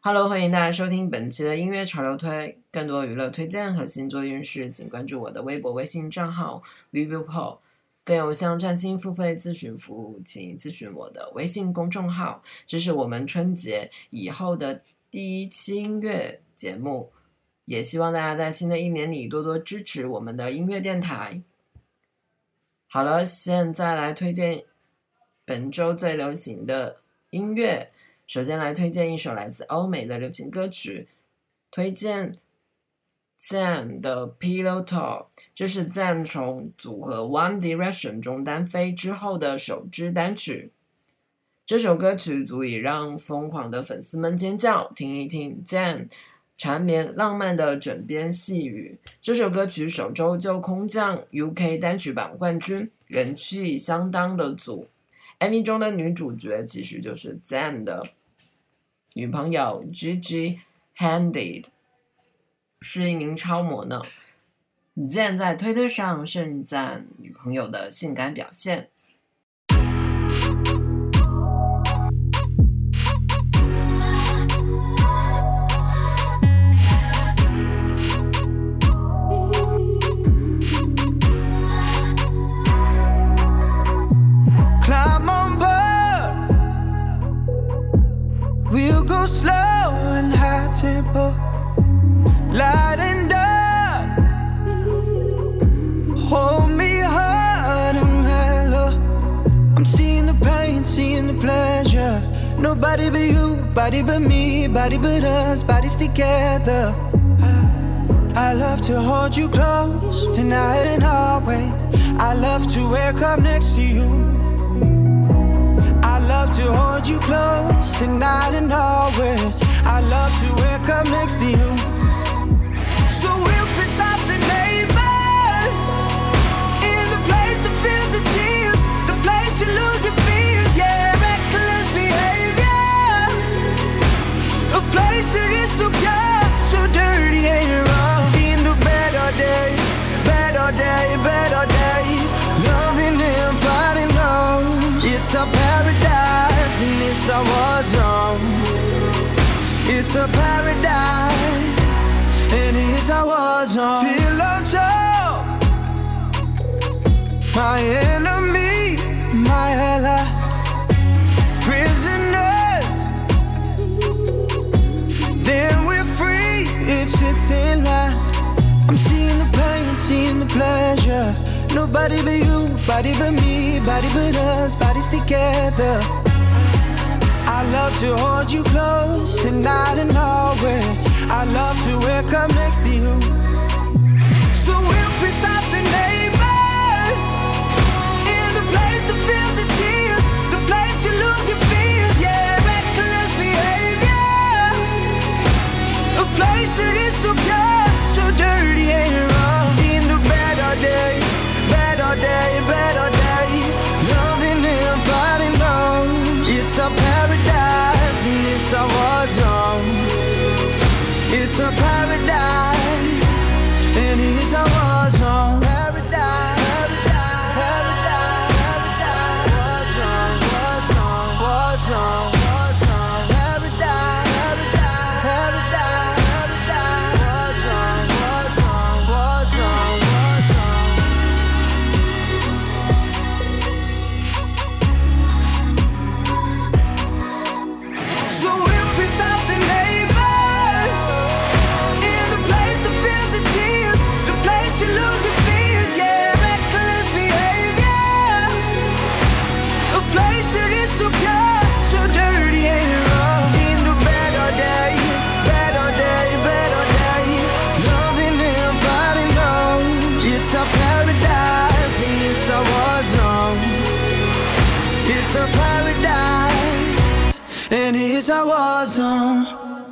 Hello，欢迎大家收听本期的音乐潮流推，更多娱乐推荐和星座运势，请关注我的微博、微信账号 vivipo， 更有向占星付费咨询服务，请咨询我的微信公众号。这是我们春节以后的第一期音乐节目，也希望大家在新的一年里多多支持我们的音乐电台。好了，现在来推荐本周最流行的音乐。首先来推荐一首来自欧美的流行歌曲，推荐 Zayn 的 Pillow Talk， 这是 Zayn 从组合 One Direction 中单飞之后的首支单曲。这首歌曲足以让疯狂的粉丝们尖叫，听一听 Zayn 缠绵浪漫的枕边细语。这首歌曲首周就空降 UK 单曲榜冠军，人气相当的足。MV 中的女主角其实就是 Zayn 的女朋友 Gigi Hadid， 是一名超模呢。Zayn 在推特上盛赞女朋友的性感表现。 Light and dark, hold me hard and mellow. I'm seeing the pain, seeing the pleasure. Nobody but you, body but me, body but us, bodies together. I love to hold you close, tonight and always. I love to wake up next to you. I love to hold you close, tonight and always. I love to wake up next to you. So we'll piss off the neighbors, in the place that feels the tears, the place you lose your fears, yeah, reckless behavior, a place that is so pure, so dirty and wrong. In the bed all day, bed all day, bed all day, loving and fighting, no, it's a paradise and it's our war zone. It's a paradise and it's our war zone. Pillow talk, my enemy, my ally, prisoners, then we're free. It's a thin line. I'm seeing the pain, seeing the pleasure. Nobody but you, body but me, body but us, bodies together. I love to hold you close, tonight and always. I love to wake up next to you. So we'll piss off the neighbors, in the place that feels the tears, the place you lose your fears, yeah, reckless behavior, a place that is so pure, so dirty and wrong. In the bed all day, bed all day, bed all day, loving and fighting, no, it's a paradise and it's a war zone. It's a paradise and it's a war zone. Paradise, paradise, paradise, war zone, war zone, war zone, war zone. Paradise, paradise, paradise, war zone, war zone, war zone, war zone. So we'll piss off the neighbors, in the place that feels the tears, the place you lose your fears, yeah, reckless behavior, a place that is so pure, so dirty and wrong. In the bed all day, bed all day, bed all day, loving and fighting, no, it's a paradise and it's a war zone. It's a paradise and it's a war zone.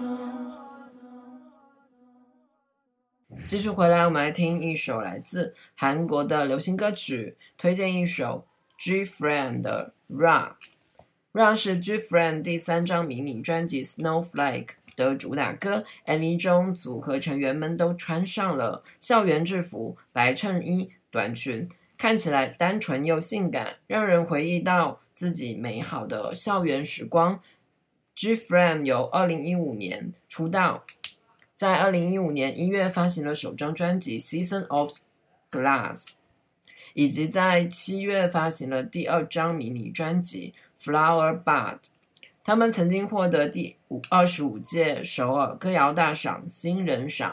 继续回来，我们来听一首来自韩国的流行歌曲，推荐一首 G-Friend 的 Run。Run 是 G-Friend 第3张迷你专辑 Snowflake 的主打歌。MV 中组合成员们都穿上了校园制服，白衬衣、短裙，看起来单纯又性感，让人回忆到自己美好的校园时光。 G-Frame 由2015年出道，在2015年1月发行了首张专辑 Season of Glass， 以及在7月发行了第2张迷你专辑 Flower Bud。他们曾经获得第25届首尔歌谣大赏新人赏。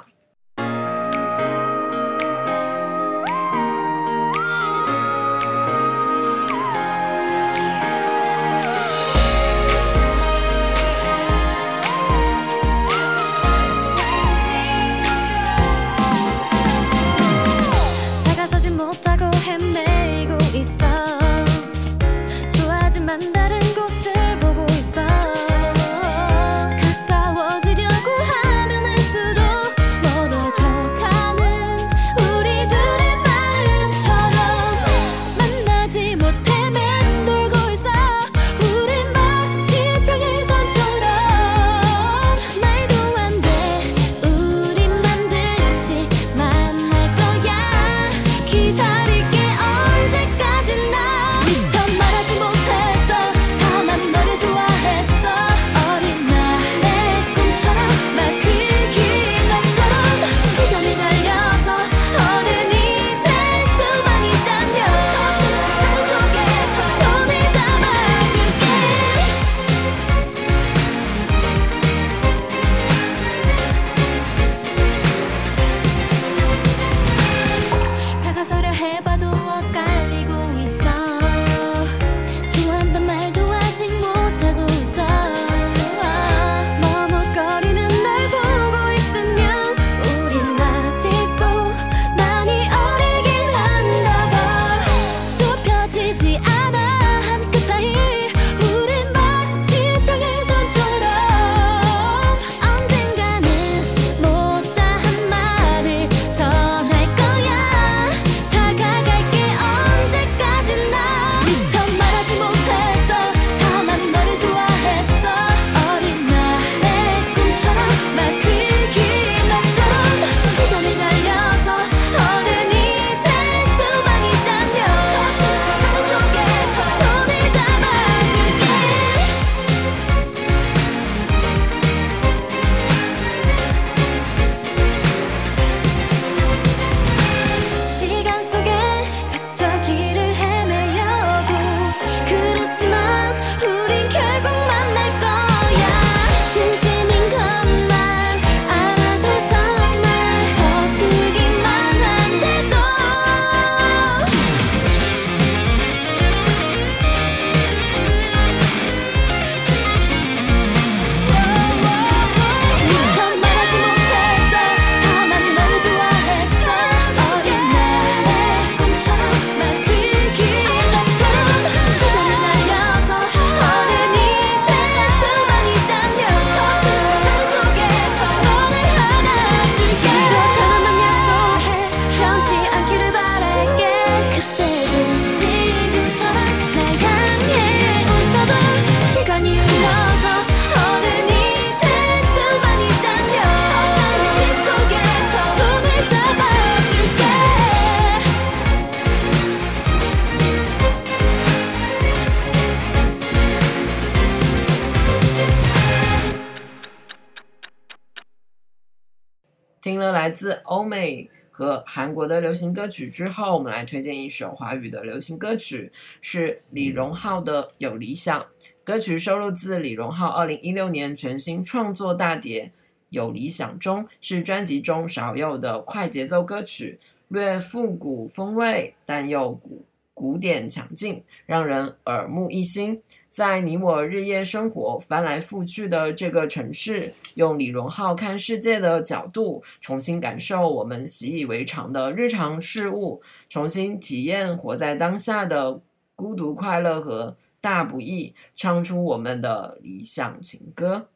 听了来自欧美和韩国的流行歌曲之后，我们来推荐一首华语的流行歌曲，是李荣浩的《有理想》。歌曲收录自李荣浩2016年全新创作大碟《有理想》中，是专辑中少有的快节奏歌曲，略复古风味，但又古典强劲，让人耳目一新。在你我日夜生活翻来覆去的这个城市，用李荣浩看世界的角度，重新感受我们习以为常的日常事物，重新体验活在当下的孤独快乐和大不易，唱出我们的理想情歌。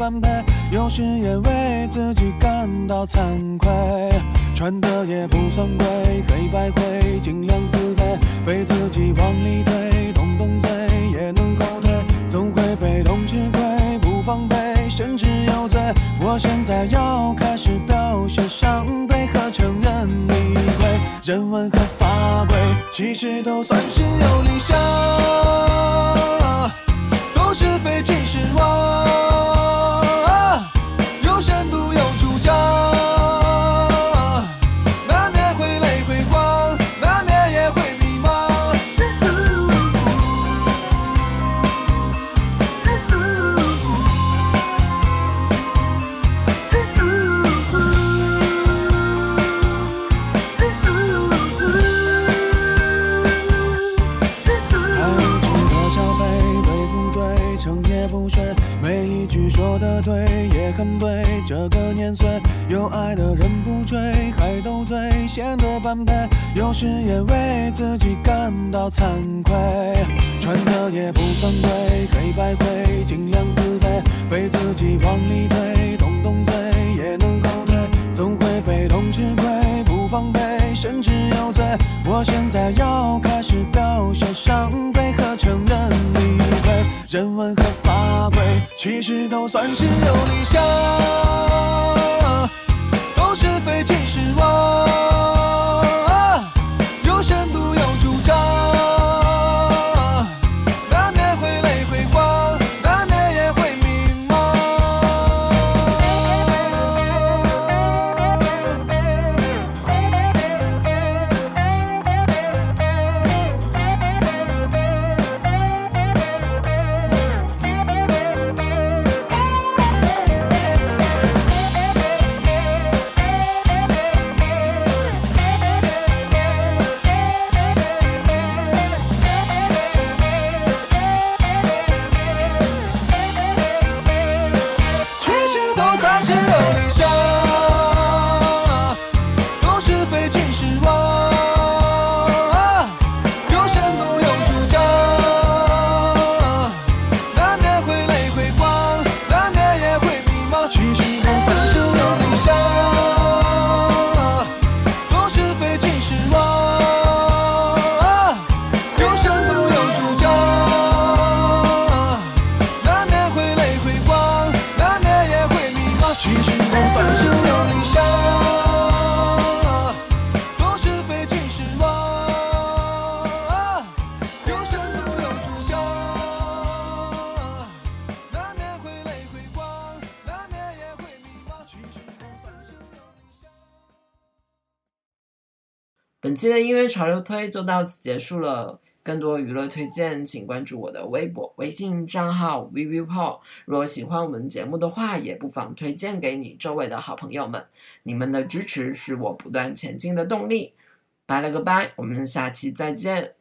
般配，有时也为自己感到惭愧，穿的也不算贵，黑白灰尽量自卑，被自己往里推，动动嘴也能后退，总会被动吃亏，不防备甚至有罪。我现在要开始表现伤悲和承认理亏，人文和法规其实都算是有理想，都是非其实我有深度有主张，难免会累会慌，难免也会迷茫。每一句说得对也很对，这个年岁有爱的人不追，还斗嘴显得般配，有时也为自己感到惭愧，穿的也不算贵，黑白灰尽量自卑，被自己往里推，动动嘴也能后退，总会被动吃亏，不防备甚至有罪。我现在要开始表现伤悲和承认理亏，人文和法规其实都算是有理想，都是非其实我有深度有主张，难免会累会慌，难免也会迷茫。 本期的音乐潮流推就到此结束了，更多娱乐推荐请关注我的微博微信账号 ViuPaul。 如果喜欢我们节目的话，也不妨推荐给你周围的好朋友们，你们的支持是我不断前进的动力。拜了个拜，我们下期再见。